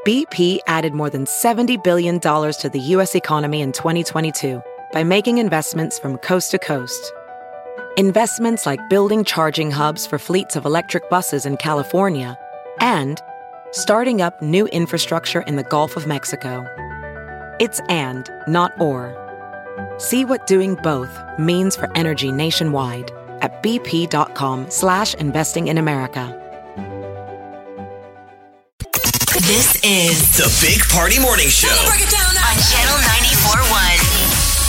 BP added more than $70 billion to the U.S. economy in 2022 by making investments from coast to coast. Investments like building charging hubs for fleets of electric buses in California and starting up new infrastructure in the Gulf of Mexico. It's and, not or. See what doing both means for energy nationwide at bp.com/investing in America. This is the Big Party Morning Show on Channel 94.1.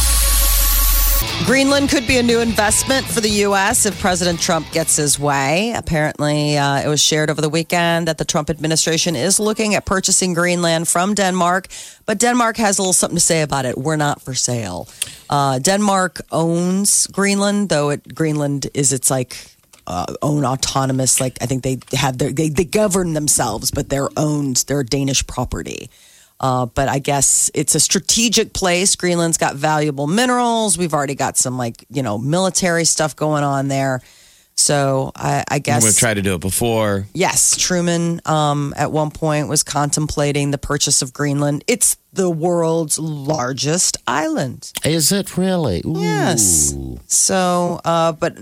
Greenland could be a new investment for the U.S. if President Trump gets his way. Apparently, it was shared over the weekend that the Trump administration is looking at purchasing Greenland from Denmark, but Denmark has a little something to say about it. We're not for sale. Denmark owns Greenland, though Greenland is its own autonomous. I think they have they govern themselves, but they're Danish property. But I guess it's a strategic place. Greenland's got valuable minerals. We've already got some military stuff going on there. So I guess we've tried to do it before. Yes, Truman at one point was contemplating the purchase of Greenland. It's the world's largest island. Is it really? Ooh. Yes. So, but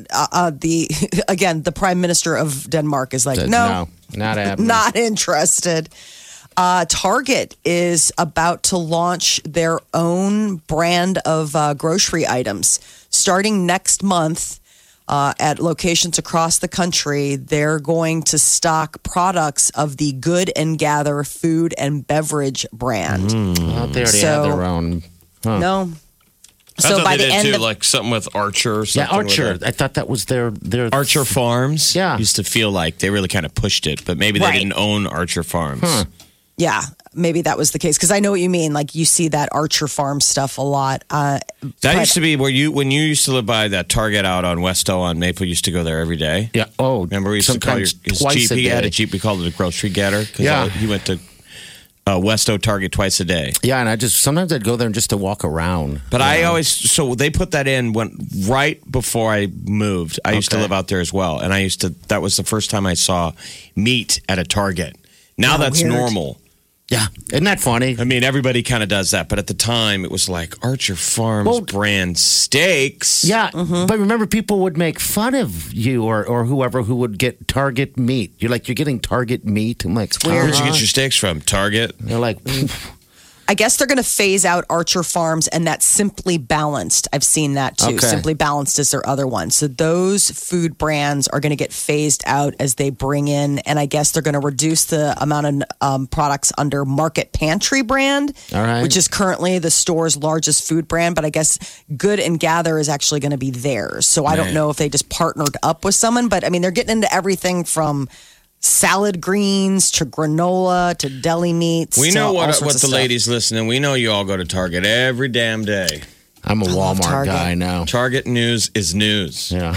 the Prime Minister of Denmark is like, no, not happening. Not interested. Target is about to launch their own brand of grocery items starting next month. At locations across the country, they're going to stock products of the Good and Gather food and beverage brand. Well, they already have their own. Huh. No. So by the end of something with Archer or something. Yeah, Archer. I thought that was their Archer Farms. Yeah. Used to feel like they really kind of pushed it, but maybe they didn't own Archer Farms. Huh. Yeah, maybe that was the case. Because I know what you mean. You see that Archer Farm stuff a lot. That used to be when you used to live by that Target out on Westo on Maple. You used to go there every day. Yeah. Oh, remember we used to call his Jeep. He had a Jeep. We called it a grocery getter. Yeah. He went to Westo Target twice a day. Yeah, and sometimes I'd go there just to walk around. But so they put that in right before I moved. I used to live out there as well, and that was the first time I saw meat at a Target. Now that's weird. Normal. Yeah, isn't that funny? I mean, everybody kind of does that, but at the time, it was like Archer Farms brand steaks. Yeah, but remember, people would make fun of you or whoever who would get Target meat. You're getting Target meat. I'm like, where'd you get your steaks from? Target? They're like, I guess they're going to phase out Archer Farms, and that's Simply Balanced. I've seen that too. Okay. Simply Balanced is their other one. So those food brands are going to get phased out as they bring in, and I guess they're going to reduce the amount of products under Market Pantry brand, all right, which is currently the store's largest food brand. But I guess Good and Gather is actually going to be theirs. So I don't know if they just partnered up with someone, but I mean, they're getting into everything from salad greens to granola to deli meats. We know what the stuff. ladies listening. We know you all go to Target every damn day. I'm a Walmart guy now. Target news is news. Yeah.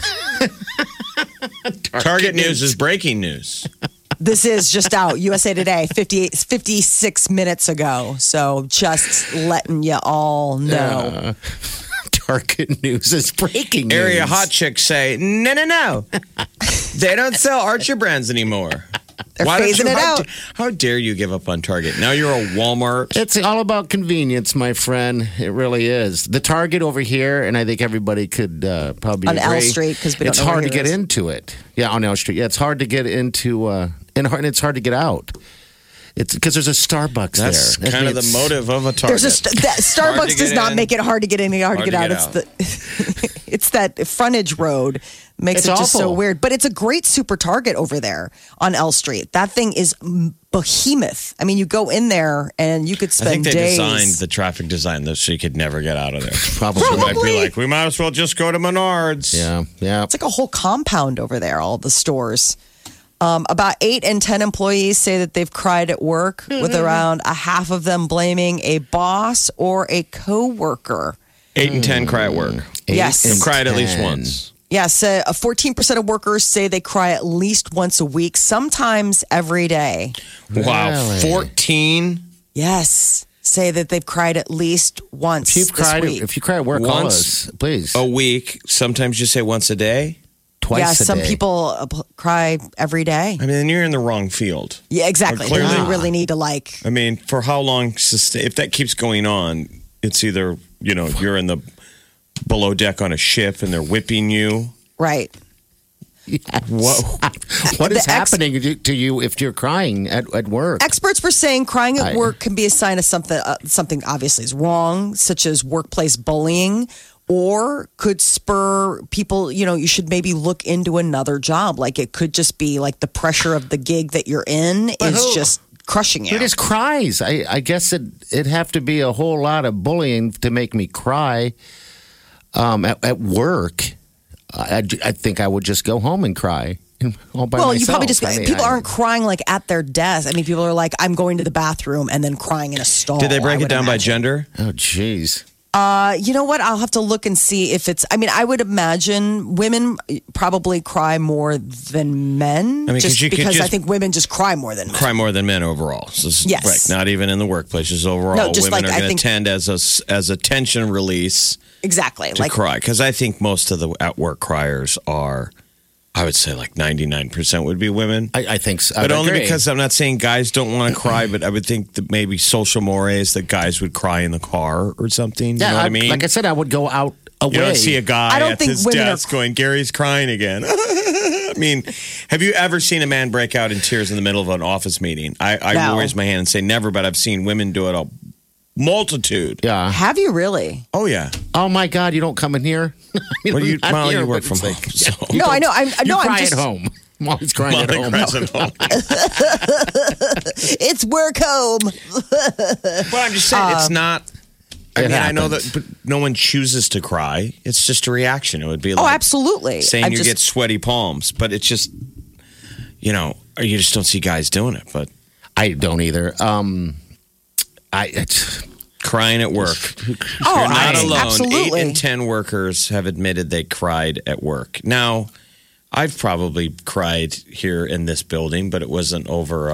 Target news is breaking news. This is just out. USA Today, 56 minutes ago. So just letting you all know. Target news is breaking news. Area hot chicks say, no. They don't sell Archer brands anymore. They're phasing it out. How dare you give up on Target? Now you're a Walmart. It's all about convenience, my friend. It really is. The Target over here, and I think everybody could probably on agree. L Street, because it's hard to get into it. Yeah, on L Street. Yeah, it's hard to get into, and it's hard to get out. It's because there's a Starbucks That's there. That's kind of the motive of a Target. Starbucks does not make it hard to get in, hard to get out. It's that frontage road makes it just so weird. But it's a great super Target over there on L Street. That thing is behemoth. I mean, you go in there and you could spend days. I think they designed the traffic design so you could never get out of there. Probably. They might be like, we might as well just go to Menards. Yeah. It's like a whole compound over there, all the stores. About 8 in 10 employees say that they've cried at work, with around a half of them blaming a boss or a coworker. 8 in 10 cry at work. Yes. They've cried at least once. Yes, 14% of workers say they cry at least once a week, sometimes every day. Wow, Really? 14? Yes, say that they've cried at least once If you cry at work, call Once us, please. A week. Sometimes you say once a day. twice a some day. people cry every day. I mean, then you're in the wrong field. Yeah, exactly. Clearly- You really need to like. I mean, for how long? If that keeps going on, it's either you're in the below deck on a ship and they're whipping you. Right. What is happening to you if you're crying at work? Experts were saying crying at work can be a sign of something obviously is wrong, such as workplace bullying, or could spur people, you should maybe look into another job. Like it could just be like the pressure of the gig that you're in is just crushing you. Who just cries? I guess it'd have to be a whole lot of bullying to make me cry at work. I think I would just go home and cry all by myself. You probably just people aren't crying like at their desk. I mean, people are like, I'm going to the bathroom and then crying in a stall. Did they break it down by gender? Oh, jeez. You know what? I'll have to look and see if it's. I mean, I would imagine women probably cry more than men. I mean, just you could because just I think women just cry more than men. Cry more than men overall. So Yes. Right, not even in the workplaces overall. No, just women like, are I going to think- tend as a tension release Exactly. to cry. Because I think most of the at work criers are, I would say like 99% would be women. I think so. But I only agree. because I'm not saying guys don't want to cry, but I would think that maybe social mores that guys would cry in the car or something. Yeah, You know what I mean? Like I said, I would go out away. You don't see a guy I don't at think his women are- desk going, Gary's crying again. I mean, have you ever seen a man break out in tears in the middle of an office meeting? I No. will raise my hand and say never, but I've seen women do it a multitude. Yeah. Have you really? Oh, yeah. Oh my God! You don't come in here. Well, you, Not Molly, here, you work but from it's home. like- So. No, I know. You I'm cry just. at home. I'm always crying at Molly home. cries at home. It's work home. But I'm just saying, it's not. I It mean, I know happens. that but no one chooses to cry. It's just a reaction. It would be Oh, like absolutely. saying I'm you just- get sweaty palms, but it's just, or you just don't see guys doing it. But I don't either. It's crying at work. Oh, You're not alone. absolutely. 8 in 10 workers have admitted they cried at work. Now, I've probably cried here in this building, but it wasn't over.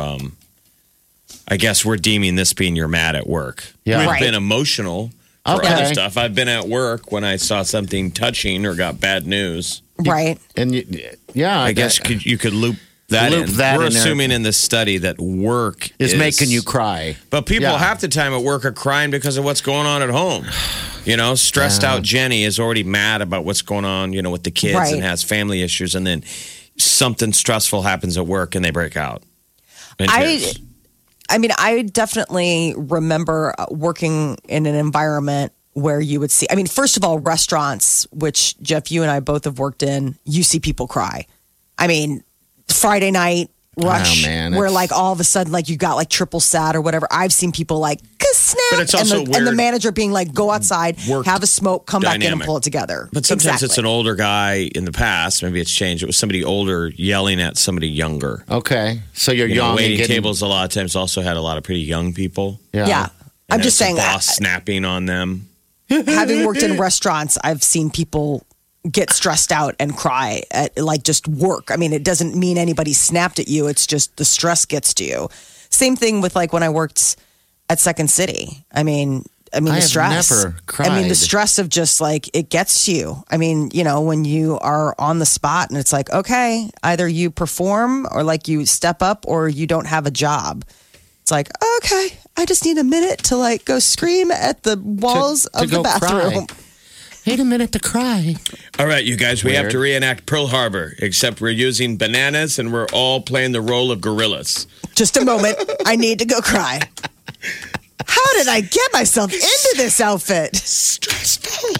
I guess we're deeming this being you're mad at work. Yeah. We've Right. been emotional for Okay. other stuff. I've been at work when I saw something touching or got bad news. Right. and yeah. I guess you could loop that Loop in. that We're in there. assuming in this study that work is making you cry. But people Yeah. half the time at work are crying because of what's going on at home. Stressed out Jenny is already mad about what's going on, with the kids Right. and has family issues. And then something stressful happens at work and they break out. in tears. I mean, I definitely remember working in an environment where you would see, I mean, first of all, restaurants, which Jeff, you and I both have worked in, you see people cry. I mean, Friday night rush, Oh, man, where it's- like all of a sudden, like you got like triple sat or whatever. I've seen people like, snap. But it's also and the weird manager being like, go outside, work have a smoke, come back in and dynamic. pull it together. But sometimes Exactly. it's an older guy in the past. Maybe it's changed. It was somebody older yelling at somebody younger. Okay, so you're young. and Waiting getting, tables a lot of times also had a lot of pretty young people. Yeah. Yeah. I'm And just there's saying the boss snapping on them. having worked in restaurants, I've seen people get stressed out and cry at like just work. I mean, it doesn't mean anybody snapped at you. It's just the stress gets to you. Same thing with like when I worked at Second City. I mean I the have stress. never I mean, the cried. stress of just like it gets to you. I mean, when you are on the spot and it's like, okay, either you perform or like you step up or you don't have a job. It's like, okay, I just need a minute to like go scream at the walls to of the go bathroom. cry. Wait a minute to cry. All right, you guys, we have Weird. to reenact Pearl Harbor, except we're using bananas and we're all playing the role of gorillas. Just a moment. I need to go cry. How did I get myself into this outfit? Stressful.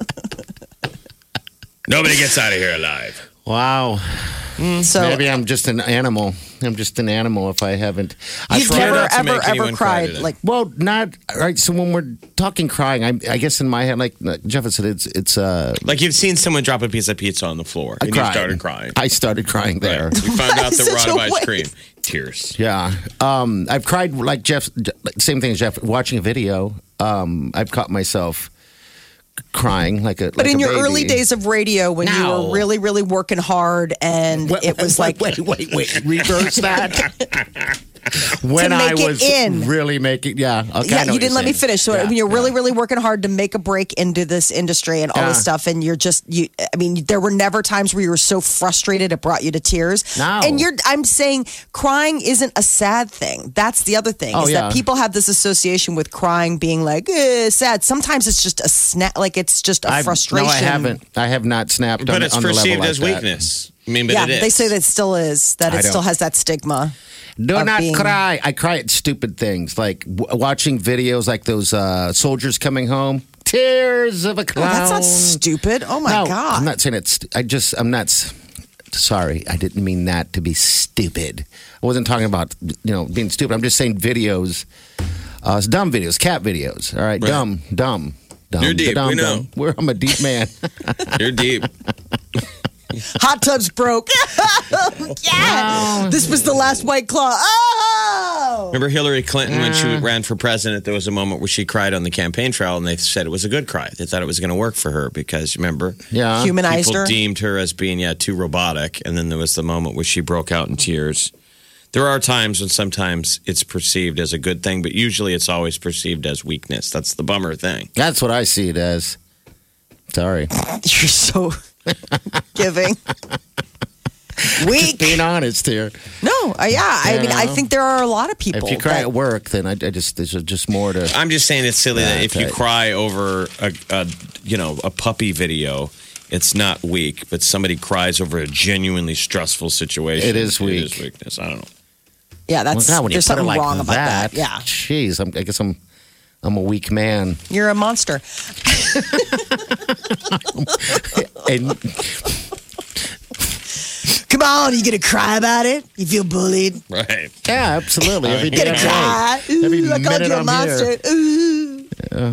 Nobody gets out of here alive. Wow. So Maybe I'm just an animal. I'm just an animal if I haven't. you've tried never, not to ever, make anyone ever cry cried today. like Well, not right. So when we're talking crying, I guess in my head, like Jeff said, it's Like you've seen someone drop a piece of pizza on the floor and you crying. started crying. I started crying there. Right. We found out that we're Such out of a ice waste. cream. Tears. Yeah. I've cried like Jeff. Same thing as Jeff. Watching a video, I've caught myself crying like a. but in your early days of radio when you No. were really, really working hard and it was like wait. Reverse that. when to make I was it in. really making, Yeah, you didn't let me finish. So Yeah, when you're really, yeah. really working hard to make a break into this industry and all this stuff, and there were never times where you were so frustrated it brought you to tears. No. And I'm saying crying isn't a sad thing. That's the other thing, is that people have this association with crying being like, sad. Sometimes it's just a snap, like it's just a frustration. No, I haven't. I have not snapped But on, it's on the level perceived like as that. weakness. I mean, but Yeah, it is. they say that it still is, that I it still don't. has that stigma. Do of not being- cry. I cry at stupid things like watching videos like those soldiers coming home. Tears of a Oh, clown. that's not stupid. Oh my No, God. I'm not saying it's. I'm not. Sorry, I didn't mean that to be stupid. I wasn't talking about being stupid. I'm just saying videos, dumb videos, cat videos. All right, Right. dumb. You're deep, dumb, we know. dumb. I'm a deep man. You're deep. Hot tub's broke. Yeah. This was the last White Claw. Oh. Remember Hillary Clinton when she ran for president? There was a moment where she cried on the campaign trail, and they said it was a good cry. They thought it was going to work for her because remember, Yeah, Humanized people her. deemed her as being too robotic. And then there was the moment where she broke out in tears. There are times when sometimes it's perceived as a good thing, but usually it's always perceived as weakness. That's the bummer thing. That's what I see it as. Sorry, You're so giving. Weak. being honest here. No, I mean, I think there are a lot of people. If you cry that- at work, then I just there's just more to. I'm just saying it's silly Yeah, that if you okay. cry over a puppy video, it's not weak, but somebody cries over a genuinely stressful situation. It is weak. It is weakness. I don't know. yeah, that's Well, God, when you there's put it something like wrong about that. Yeah, Jeez, I guess I'm a weak man. you're a monster. And Come on, you gonna cry about it? You feel bullied? Right. yeah, absolutely. Every You gonna damn cry? day. Every Ooh, I called minute you a I'm monster. here. Ooh.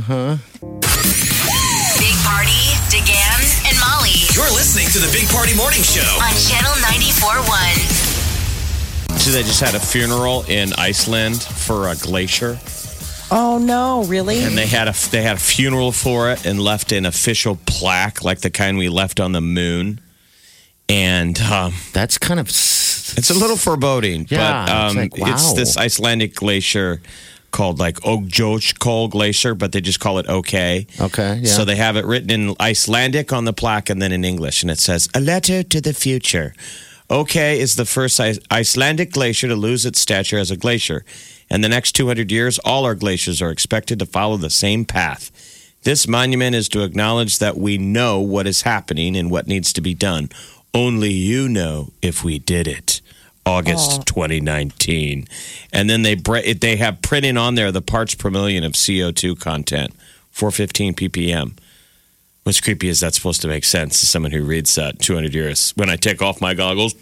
Big Party, DeGan, and Molly You're listening to the Big Party Morning Show. on Channel 94.1. So they just had a funeral in Iceland for a glacier, Oh no, really? and they had a funeral for it and left an official plaque like the kind we left on the moon. And That's kind of. it's a little foreboding, Yeah, but it's like, wow. it's this Icelandic glacier called like Ögjókul Glacier, but they just call it OK. Okay, yeah. So they have it written in Icelandic on the plaque and then in English, and it says, "A letter to the future. OK is the first Icelandic glacier to lose its stature as a glacier. In the next 200 years, all our glaciers are expected to follow the same path. This monument is to acknowledge that we know what is happening and what needs to be done. Only you know if we did it." August 2019. And then they have printing on there the parts per million of CO2 content, 415 ppm. What's creepy is that's supposed to make sense to someone who reads that 200 years. When I take off my goggles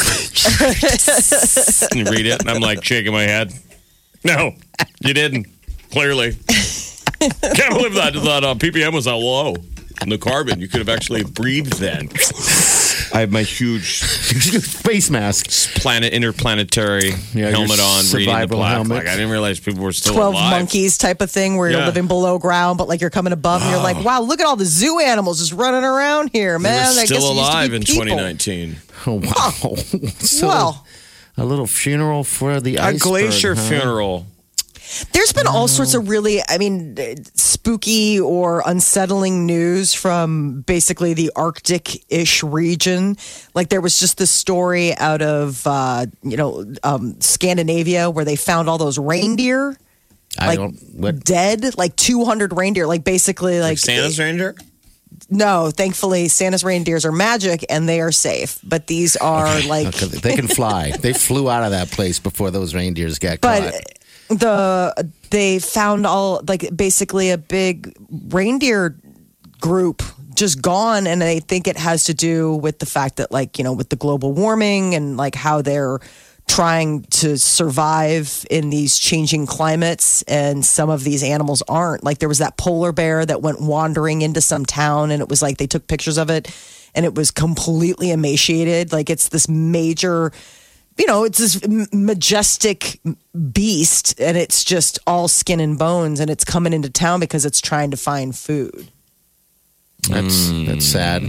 and read it, and I'm like shaking my head. No, you didn't. Clearly. Can't believe that ppm was that low. And the carbon, you could have actually breathed then. I have my huge face mask. interplanetary Yeah, your helmet on, reading the survival plaque. helmet. Like I didn't realize people were still 12 alive. monkeys type of thing where you're Yeah. living below ground, but like you're coming above and you're like, wow, look at all the zoo animals just running around here, They man. were I guess still it used to be alive in people. 2019. Oh, wow. So, Well, a little funeral for the A iceberg, glacier huh? funeral. there's been all sorts of really, spooky or unsettling news from basically the Arctic-ish region. Like there was just this story out of, Scandinavia where they found all those reindeer I don't. What? dead, like 200 reindeer, like basically Like Santa's reindeer? No, thankfully, Santa's reindeers are magic and they are safe. But these are like, Okay, they can fly. They flew out of that place before those reindeers got but caught. they found all like basically a big reindeer group just gone, and I think it has to do with the fact that with the global warming and like how they're trying to survive in these changing climates, and some of these animals aren't. Like there was that polar bear that went wandering into some town, and it was like they took pictures of it and it was completely emaciated. Like it's this major, it's this majestic beast, and it's just all skin and bones, and it's coming into town because it's trying to find food. That's sad.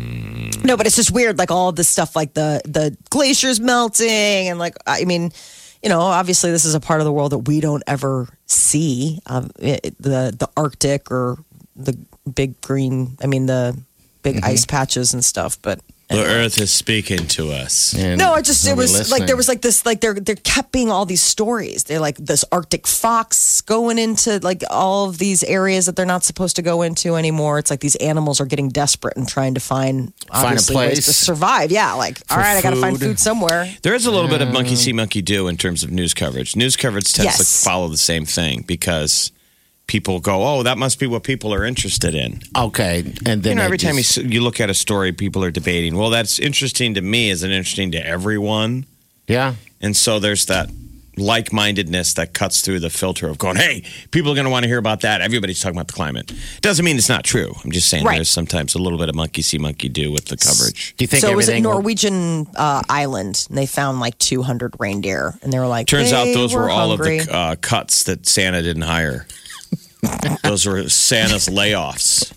No, but it's just weird, like all this stuff, like the glaciers melting, and obviously this is a part of the world that we don't ever see. The Arctic or the big green, the big ice patches and stuff. But the Earth is speaking to us. And no, it was listening. like there was like this, like there kept being all these stories. They're like this Arctic fox going into like all of these areas that they're not supposed to go into anymore. It's like these animals are getting desperate and trying to find a obviously place ways to survive. Yeah, like all right, I got to find food somewhere. There is a little bit of monkey see, monkey do in terms of news coverage. News coverage tends to Yes. follow the same thing because people go, oh, that must be what people are interested in. Okay, and then Every time you look at a story, people are debating, well, that's interesting to me. Is it interesting to everyone? yeah. And so there's that like-mindedness that cuts through the filter of going, hey, people are going to want to hear about that. Everybody's talking about the climate. Doesn't mean it's not true. I'm just saying Right. there's sometimes a little bit of monkey see, monkey do with the coverage. Do you think So it was at everything will- Norwegian island, and they found like 200 reindeer, and they were like, Turns out those were all hungry. of the cuts that Santa didn't hire. Those were Santa's layoffs.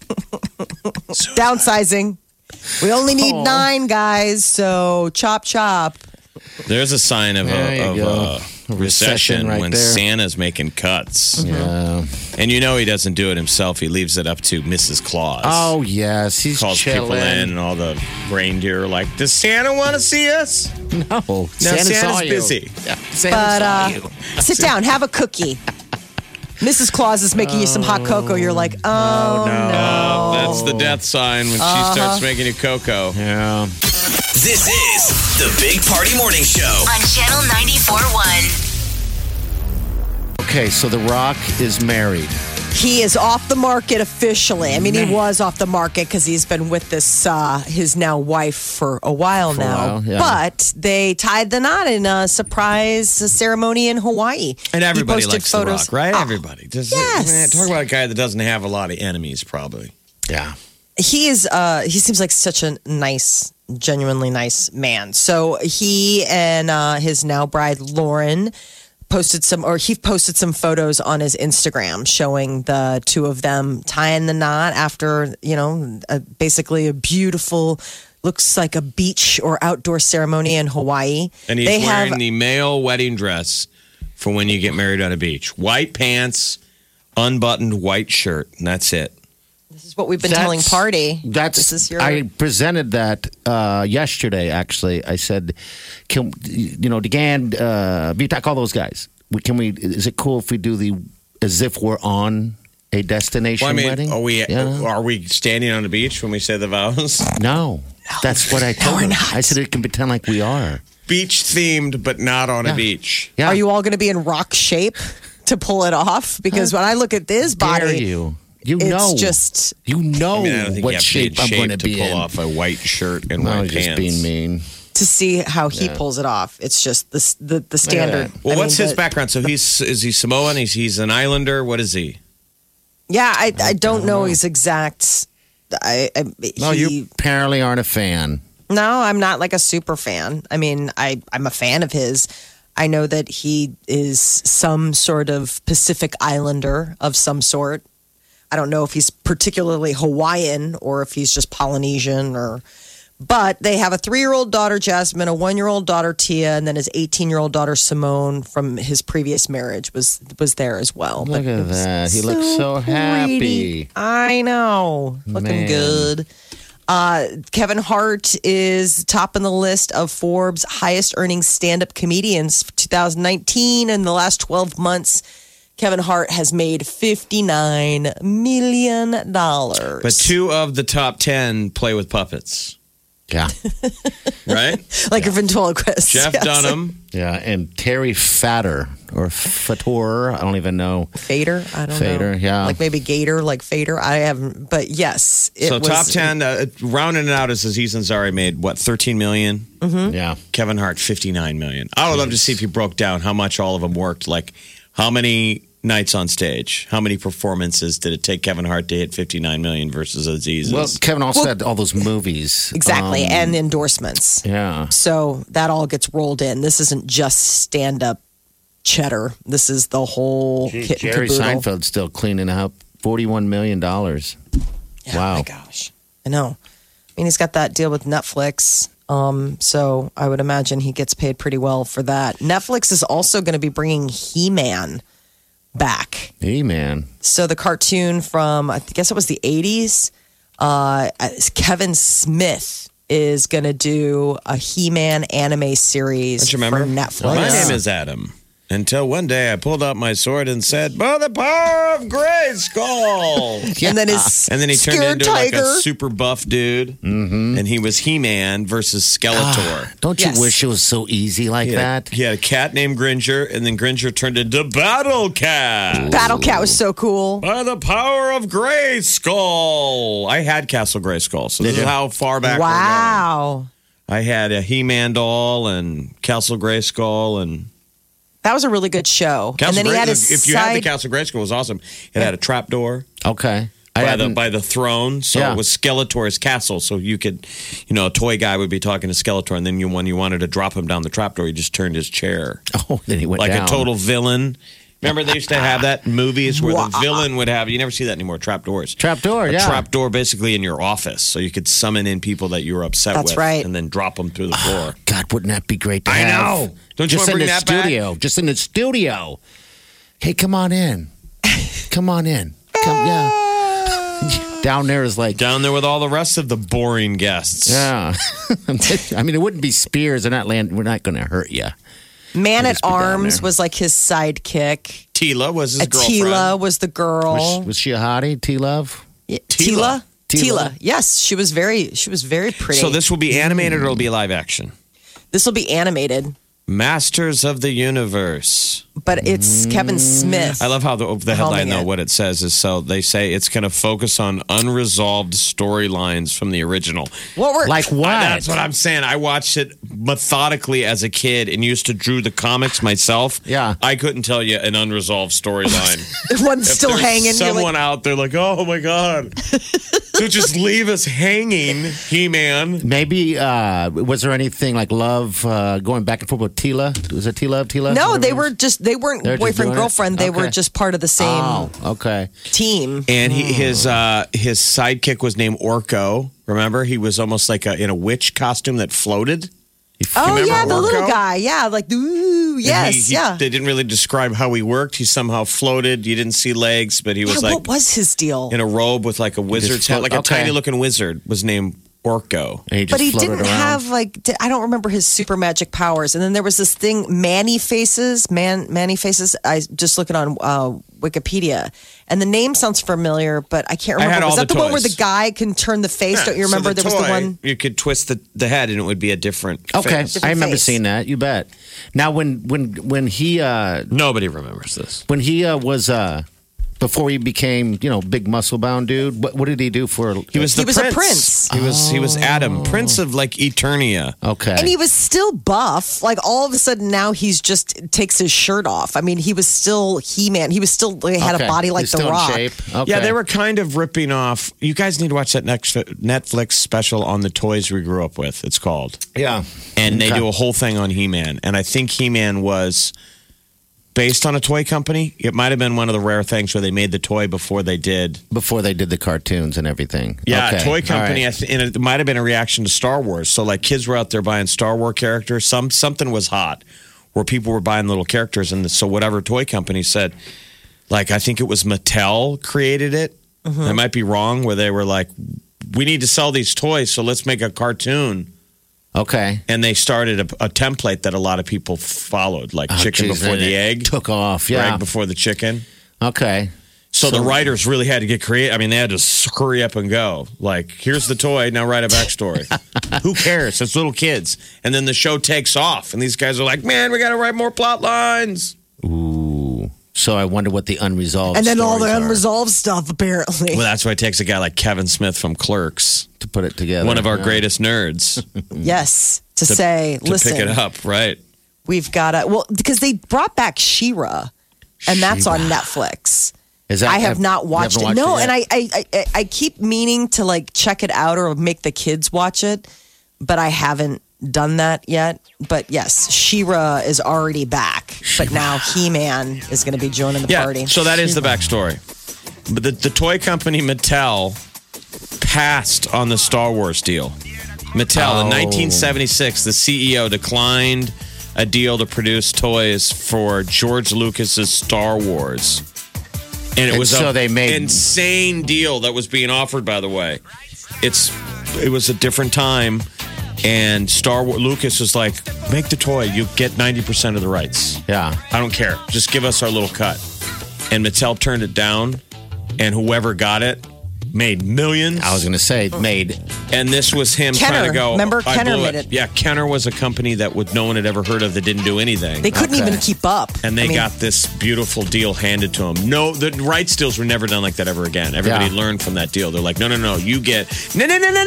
Downsizing. We only need 9 guys, so chop chop. There's a sign of There you a go. A recession right when there. Santa's making cuts. Yeah. And he doesn't do it himself. He leaves it up to Mrs. Claus. Oh yes, he's Calls chilling. people in, and all the reindeer are like, does Santa want to see us? No, No, Santa saw Santa's you. busy. Yeah, Santa But saw you. sit down, have a cookie. Mrs. Claus is making you some hot cocoa. You're like, oh, no. That's the death sign when she starts making you cocoa. Yeah. This is the Big Party Morning Show. On Channel 94.1. Okay, so The Rock is married. He is off the market officially. I mean, he was off the market because he's been with this his now wife for a while now. while, yeah. But they tied the knot in a surprise ceremony in Hawaii. And everybody He posted likes photos. The Rock, right? Oh, Everybody. Yes. Talk about a guy that doesn't have a lot of enemies, probably. Yeah. he is he seems like such a nice, genuinely nice man. So he and his now bride Lauren posted some photos on his Instagram showing the two of them tying the knot after, basically a beautiful, looks like a beach or outdoor ceremony in Hawaii. And he's wearing the male wedding dress for when you get married on a beach. White pants, unbuttoned white shirt, and that's it. This is what we've been telling Party. This is your... I presented that yesterday. Actually, I said, "Can DeGan, VTAC, all those guys? Is it cool if we do as if we're on a destination wedding? Are we standing on the beach when we say the vows? No, that's what I told we're them. not. I said it can pretend like we are Beach themed, but not on a beach. Yeah. Are you all going to be in rock shape to pull it off? Because when I look at this body, Dare you? it's just... I don't think what you have shape to I'm be going in to shape to be pull in. off a white shirt and No, white just pants. being mean. to see how he pulls it off. It's just the standard. Well, I what's mean, his background? So is he Samoan? He's an islander. What is he? Yeah, I don't know his exact. No, you apparently aren't a fan. No, I'm not like a super fan. I mean, I'm a fan of his. I know that he is some sort of Pacific Islander of some sort. I don't know if he's particularly Hawaiian or if he's just Polynesian but they have a 3-year-old daughter, Jasmine, a 1-year-old daughter, Tia, and then his 18-year-old daughter, Simone, from his previous marriage was there as well. Look at that. He looks so happy. I know. Looking Man. good. Kevin Hart is top on the list of Forbes' highest earning stand-up comedians for 2019. In the last 12 months, Kevin Hart has made $59 million. But 2 of the top 10 play with puppets, Yeah. right? Like a ventriloquist. Jeff Yes. Dunham. Yeah, and Terry Fator or Fator, I don't even know. Fader? I don't know. Fader, yeah. Like maybe Gator, like Fader. I haven't, but yes. So top 10, rounding it out, is Aziz Ansari made, what, $13 million? Mm-hmm. Yeah. Kevin Hart, $59 million. I would love to see if you broke down how much all of them worked. Like, how many nights on stage? How many performances did it take Kevin Hart to hit $59 million versus Aziz's? Well, Kevin also had all those movies. Exactly. And endorsements. Yeah. So that all gets rolled in. This isn't just stand-up cheddar. This is the whole kit and Jerry caboodle. Seinfeld's still cleaning up $41 million. Yeah, Wow. Oh my gosh. I know. I mean, he's got that deal with Netflix. So I would imagine he gets paid pretty well for that. Netflix is also going to be bringing He-Man back. He-Man. So the cartoon from, I guess it was the 80s, Kevin Smith is going to do a He-Man anime series Don't you remember? for Netflix. My name is Adam. Until one day I pulled out my sword and said, "By the power of Grayskull." And then his And then he turned scared into tiger. like a super buff dude. Mm-hmm. And he was He-Man versus Skeletor. Don't you Yes. wish it was so easy like that? He had a cat named Gringer, and then Gringer turned into Battle Cat. Battle Cat was so cool. By the power of Grayskull. I had Castle Grayskull, so this is how far back we're Wow. going. I had a He-Man doll and Castle Grayskull and That was a really good show. Castle and then he had his if you had the side. Castle Grayskull, it was awesome. It had a trapdoor Okay. by the throne, so Yeah. it was Skeletor's castle. So you could, a toy guy would be talking to Skeletor, and then when you wanted to drop him down the trapdoor, you just turned his chair Oh, then he went like down. a total villain. Remember they used to have that in movies where the villain would have. You never see that anymore. Trapdoors. Trapdoor, A yeah. trapdoor basically in your office, so you could summon in people that you were upset That's with, right. and then drop them through the floor. God, wouldn't that be great to I have? know. Don't you Just wanna in bring the that back? studio. Just in the studio. Hey, come on in. Come on in. Come, yeah. Down there is like, Down there with all the rest of the boring guests. yeah. I mean, it wouldn't be spears. They're not we're not going to hurt you. Man at just be down Arms there. was like his sidekick. Tila was his girlfriend. Tila was the girl. Was she a hottie, T-Love? Tila? Tila. Tila. Yes, she was very pretty. So this will be animated or it'll be live action? This will be animated, Masters of the Universe. but it's Kevin Smith. I love how the headline, Helming though, it. what it says is so they say it's going to focus on unresolved storylines from the original. What were Like what? That's what I'm saying. I watched it methodically as a kid and used to drew the comics myself. Yeah. I couldn't tell you an unresolved storyline. one's If still there's hanging? You're Someone like, out there like, oh my God. So just leave us hanging, He-Man. Maybe, was there anything like love going back and forth with Tila? Was it Tila? no, they Whatever it is? they weren't They're just boyfriend doing it? girlfriend. They were Okay. just part of the same Oh, okay. team. And his sidekick was named Orko. Remember, he was almost like in a witch costume that floated. Oh remember yeah, the little Orko? guy. Yeah, like ooh, And yes, yeah. They didn't really describe how he worked. He somehow floated. You didn't see legs, but he was Yeah, like what was his deal? in a robe with like a wizard's hat, like a okay. tiny looking wizard. Was named Orko. And he just But he floated didn't around. have like I don't remember his super magic powers. And then there was this thing, Manny Faces. I just looking on Wikipedia, and the name sounds familiar, but I can't I remember. had Was all that the the one where toys. the guy can turn the face? Don't you remember? So There was the toy, one. you could twist the head and it would be a different. Okay, face. I remember face. seeing that. You bet. Now, when he Nobody remembers this. was before he became big muscle bound dude, what did he do for? He was the He was a prince. He was Adam, Prince of like Eternia. Okay, And he was still buff. Like all of a sudden now he's just takes his shirt off. I mean, he was still He-Man. He was still had Okay. a body like He's The still in Rock. shape. Okay. Yeah, they were kind of ripping off. You guys need to watch that next Netflix special on the toys we grew up with. It's called. Yeah, And they Okay. do a whole thing on He-Man. And I think He-Man was based on a toy company. It might have been one of the rare things where they made the toy before they did. before they did the cartoons and everything. Yeah, Okay. toy company. All right. And it might have been a reaction to Star Wars. So like kids were out there buying Star Wars characters. Something was hot where people were buying little characters. And so whatever toy company said, like I think it was Mattel created it. I might be wrong, where they were like, we need to sell these toys, so let's make a cartoon. Okay. And they started a template that a lot of people followed, like chicken geez, before and the it egg, took off. or Yeah. egg before the chicken. Okay. So the writers really had to get creative. I mean, they had to hurry up and go. Like, here's the toy, now write a backstory. Who cares? It's little kids. And then the show takes off, and these guys are like, man, we got to write more plot lines. Ooh. So I wonder what the unresolved And then all the stories are unresolved stuff, apparently. Well, that's why it takes a guy like Kevin Smith from Clerks, to put it together. one of our Yeah. greatest nerds, Yes. To say, to listen, pick it up, right? we've got to, well, because they brought back She-Ra, and that's on Netflix. Is that, I have not watched it. you haven't No, watched it and yet? I keep meaning to like check it out or make the kids watch it, but I haven't done that yet. But yes, She-Ra is already back, but now He-Man is going to be joining the Yeah, party. so that is the backstory. But the toy company Mattel passed on the Star Wars deal. Mattel in 1976, the CEO declined a deal to produce toys for George Lucas's Star Wars. And it was an insane deal that was being offered, by the way. It was a different time, and Lucas was like, make the toy, you get 90% of the rights. Yeah. I don't care. Just give us our little cut. And Mattel turned it down, and whoever got it made millions. I was going to say, made. And this was him Kenner. trying to go. Remember, Kenner made it. Yeah, Kenner was a company that no one had ever heard of that didn't do anything. They couldn't even keep up. And they got this beautiful deal handed to them. No, the rights deals were never done like that ever again. Everybody learned from that deal. They're like, no, you get, no.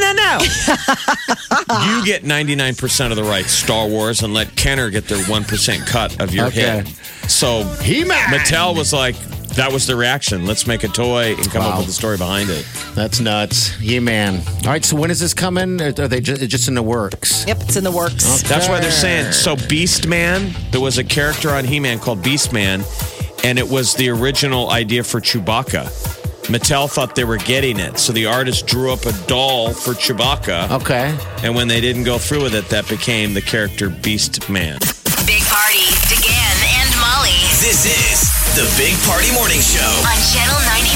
You get 99% of the rights, Star Wars, and let Kenner get their 1% cut of your hit. So He-Man. Mattel was like, that was the reaction. Let's make a toy and come up with the story behind it. That's nuts. He-Man. All right, so when is this coming? Are they just in the works? Yep, it's in the works. Okay. That's why they're saying. So Beast Man, there was a character on He-Man called Beast Man, and it was the original idea for Chewbacca. Mattel thought they were getting it, so the artist drew up a doll for Chewbacca. Okay. And when they didn't go through with it, that became the character Beast Man. Big Party, DeGan and Molly This is the Big Party Morning Show. on Channel 94.1.